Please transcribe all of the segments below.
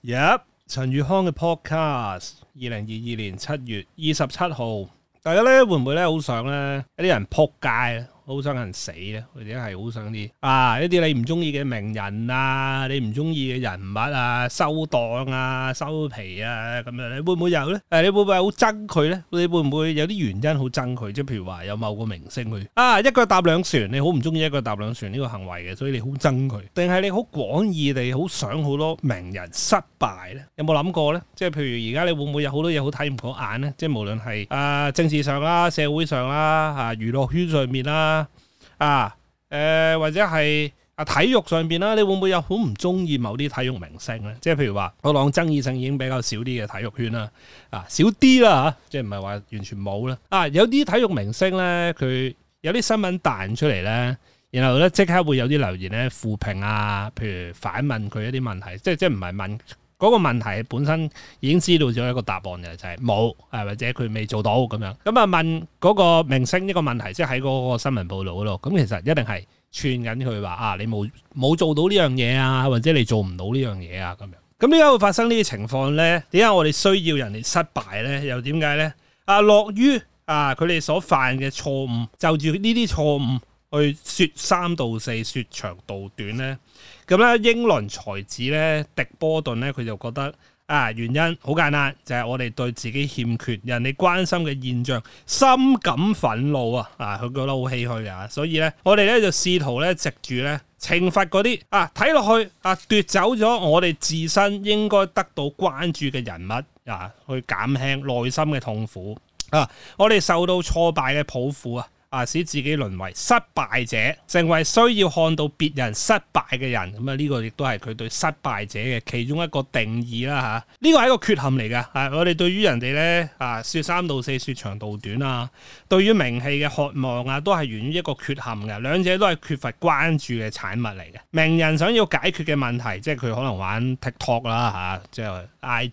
陳宇康嘅 podcast， 2022年7月27號，大家咧會唔會咧好想咧一啲人撲街咧，好想人死咧，或者係好想啲一啲你唔中意嘅名人啊，你唔中意嘅人物啊，收檔啊、收皮啊咁樣，你會唔會有咧？你會唔會好憎佢咧？你會唔會有啲原因好憎佢？即係譬如話有某個明星佢一腳踏兩船，你好唔中意一腳踏兩船呢個行為嘅，所以你好憎佢，定係你好廣義地好想好多名人失敗咧？有冇諗過咧？即係譬如而家你會唔會有好多嘢好睇唔過眼咧？即係無論係政治上啦、社會上啦、娛樂圈上面啦。或者係體育上邊啦，你會唔會有好唔中意某啲體育明星咧？即係譬如話，我講爭議性已經比較少啲嘅體育圈啦，少啲啦吓，即係唔係話完全冇啦。有啲體育明星咧，佢有啲新聞彈出嚟咧，然後咧即刻會有啲留言咧負評啊，譬如反問佢一啲問題，即係唔係問嗰個問題本身已經知道咗一個答案嘅，就係冇，或者佢未做到咁樣。咁問嗰個明星一個問題，即係喺嗰個新聞報導嗰度，咁其實一定係串緊佢話你冇做到呢樣嘢啊，或者你做唔到呢樣嘢啊咁樣。咁點解會發生呢啲情況咧？點解我哋需要人哋失敗咧？又點解咧？落於佢哋所犯嘅錯誤，就住呢啲錯誤去説三道四、説長道短咧？咁咧，英倫才子咧，狄波頓咧，佢就覺得原因好簡單，就係我哋對自己欠缺人哋關心嘅現象深感憤怒佢覺得好唏噓啊，所以咧，我哋咧就試圖咧藉住咧懲罰嗰啲睇落去奪走咗我哋自身應該得到關注嘅人物去減輕內心嘅痛苦我哋受到挫敗嘅抱負使自己淪為失敗者，成為需要看到別人失敗嘅人。咁呢個亦都係佢對失敗者嘅其中一個定義啦呢個係一個缺陷嚟㗎。我哋對於人哋咧説三道四、説長道短對於名氣嘅渴望都係源於一個缺陷嘅，兩者都係缺乏關注嘅產物嚟嘅。名人想要解決嘅問題，即係佢可能玩 TikTok 啦即係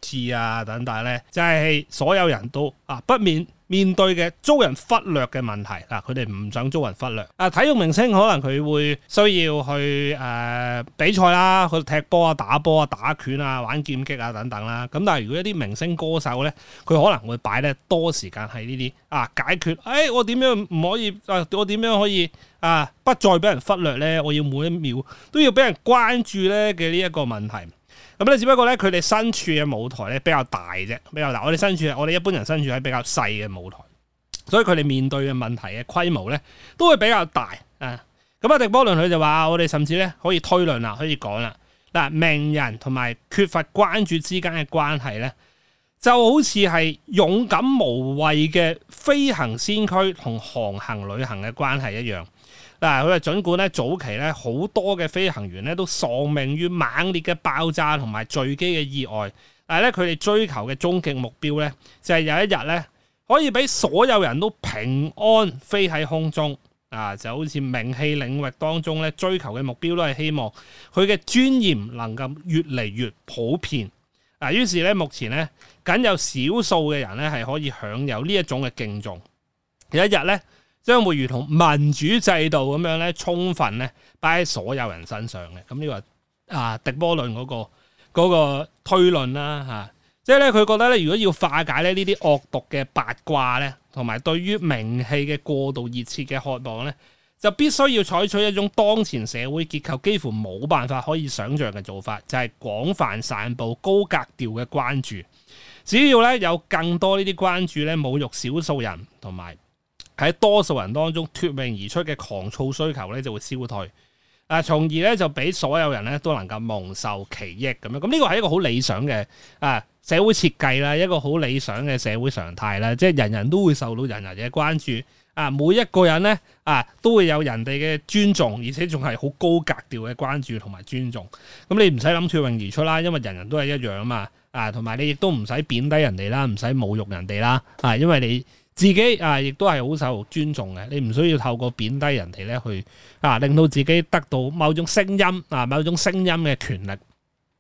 IG 等等咧，就係所有人都不免面對嘅遭人忽略嘅問題佢哋唔想遭人忽略體育明星可能佢會需要去比賽啦，去踢波打波打拳玩劍擊等等啦。咁但係如果一啲明星歌手咧，佢可能會擺得多時間喺呢啲解決我點樣唔可以我點樣可以不再俾人忽略咧？我要每一秒都要俾人關注咧嘅呢一個問題。咁咧，只不過咧，佢哋身處嘅舞台咧比較大啫，比較大。我哋一般人身處喺比較細嘅舞台，所以佢哋面對嘅問題嘅規模咧都會比較大咁狄波倫佢就話：我哋甚至咧可以推論啦，可以講啦。名人同埋缺乏關注之間嘅關係咧，就好似係勇敢無畏嘅飛行先驅同航行旅行嘅關係一樣。佢話儘管咧早期咧好多嘅飛行員咧都喪命於猛烈嘅爆炸同埋墜機嘅意外，但係咧佢哋追求嘅終極目標咧就係有一日咧可以俾所有人都平安飛喺空中就好似名氣領域當中咧追求嘅目標都係希望佢嘅尊嚴能夠越嚟越普遍於是咧目前咧僅有少數嘅人咧係可以享有呢一種嘅敬重，有一日咧將會如同民主制度咁樣咧，充分咧擺喺所有人身上嘅。咁呢個狄波倫嗰個推論啦即係咧佢覺得咧，如果要化解咧呢啲惡毒嘅八卦咧，同埋對於名氣嘅過度熱切嘅渴望咧，就必須要採取一種當前社會結構幾乎冇辦法可以想像嘅做法，就係廣泛散佈高格調嘅關注。只要咧有更多呢啲關注咧，侮辱少數人同埋喺多數人當中脫穎而出嘅狂躁需求咧就會消退，從而咧就俾所有人咧都能夠蒙受其益咁樣。咁呢個係一個好理想嘅社會設計啦，一個好理想嘅社會常態啦，即係人人都會受到人人嘅關注每一個人咧都會有人哋嘅尊重，而且仲係好高格調嘅關注同埋尊重。咁你唔使諗脫穎而出啦，因為人人都係一樣啊嘛同埋你亦都唔使貶低人哋啦，唔使侮辱人哋啦因為你自己亦都係好受尊重嘅，你唔需要透過貶低人哋咧去令到自己得到某種聲音某種聲音嘅權力。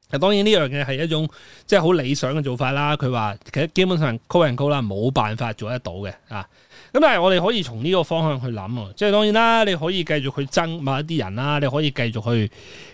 當然呢樣嘢係一種即係好理想嘅做法啦。佢話其實基本上 call and call 啦，冇辦法做得到嘅啊。咁但係我哋可以從呢個方向去諗喎，即係當然啦，你可以繼續去憎某一啲人啦，你可以繼續去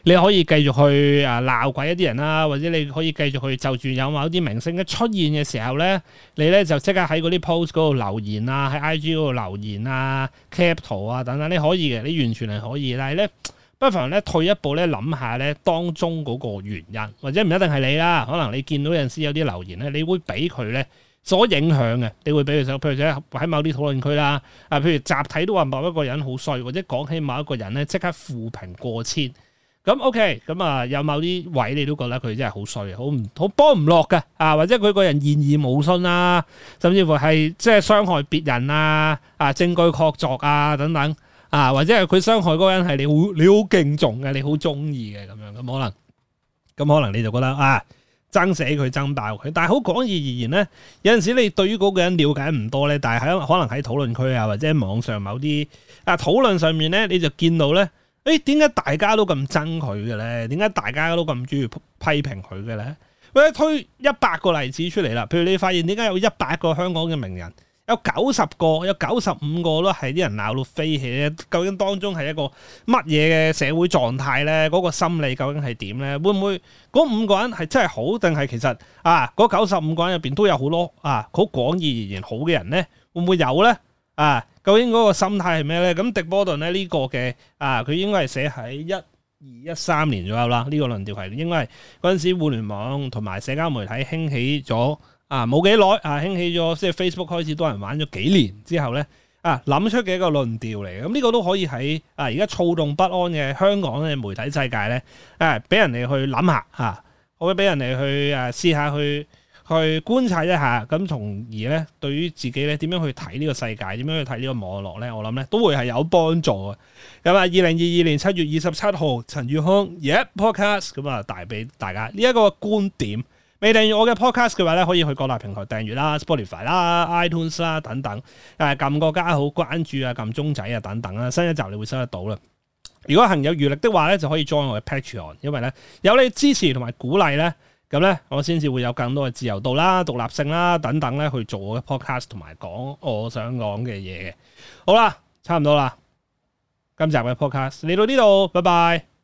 鬧鬼一啲人啦，或者你可以繼續去就住有某啲明星嘅出現嘅時候咧，你咧就即刻喺嗰啲 post 嗰度留言啊，喺 IG 嗰度留言啊、cap 圖啊等等，你可以嘅，你完全係可以。但係咧，不妨咧退一步咧諗下咧當中嗰個原因，或者唔一定係你啦，可能你見到有陣時有啲留言咧，你會俾佢咧所影響嘅，你會俾佢譬如喺某啲討論區啦，譬如集體都話某一個人好衰，或者講起某一個人咧即刻負評過千，咁 OK，咁有某啲位你都覺得佢真係好衰，好幫唔落嘅，或者佢個人言而無信啊，甚至乎係即係傷害別人啊，證據確鑿啊等等，或者係佢傷害嗰個人係你好敬重嘅，你好中意嘅咁樣，咁可能你就覺得爭死佢爭爆佢，但係好講義而言咧，有陣時你對於嗰個人了解唔多咧，但係可能喺討論區或者網上某啲討論上面咧，你就見到咧，點解大家都咁憎佢嘅咧？點解大家都咁中意批評佢嘅咧？或者推100個例子出嚟啦，譬如你發現點解有100個香港嘅名人，有90個、有95個都係啲人鬧到飛起咧，究竟當中係一個乜嘢嘅社會狀態咧？嗰個心理究竟係點咧？會唔會嗰5個人係真係好，定係其實嗰95個人入邊都有好多好廣義而言好嘅人咧？會唔會有咧？究竟嗰個心態係咩咧？咁狄波頓咧呢個嘅佢應該係寫喺1213年左右啦。呢個論調係應該係嗰陣時互聯網同埋社交媒體興起咗。冇幾耐興起咗，即係 Facebook 開始多人玩咗幾年之後咧，諗出嘅一個論調嚟嘅。咁呢個都可以喺而家躁動不安嘅香港嘅媒體世界咧，俾人哋去諗下可以俾人哋去試下去觀察一下，咁從而咧對於自己咧點樣去睇呢個世界，點樣去睇呢個網絡咧，我諗咧都會係有幫助嘅。咁2022年7月27號，陳宇康 Podcast 咁帶俾大家呢一個觀點。未訂閱我嘅 podcast 嘅話咧，可以去各大平台訂閱啦 ，Spotify 啦、iTunes 啦等等，撳個加號、關注撳鐘仔等等啦，新一集你會收得到啦。如果行有餘力的話咧，就可以 join 我嘅 Patreon， 因為咧有你支持同埋鼓勵咧，咁咧我先至會有更多嘅自由度啦、獨立性啦等等咧去做我嘅 podcast 同埋講我想講嘅嘢嘅。好啦，差唔多啦，今集嘅 podcast 嚟到呢度，拜拜。